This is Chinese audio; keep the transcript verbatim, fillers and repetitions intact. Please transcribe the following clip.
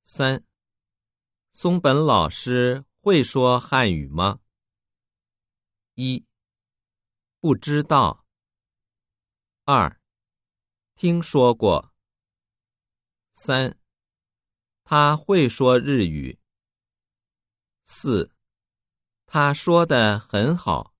三、松本老师会说汉语吗？一、不知道。二、听说过。三、他会说日语。四、他说得很好。